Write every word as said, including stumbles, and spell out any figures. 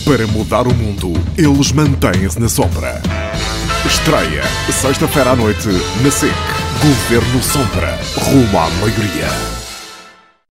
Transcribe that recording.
Para mudar o mundo, eles mantêm-se na sombra. Estreia, sexta-feira à noite, na S E C. Governo Sombra. Rumo à maioria.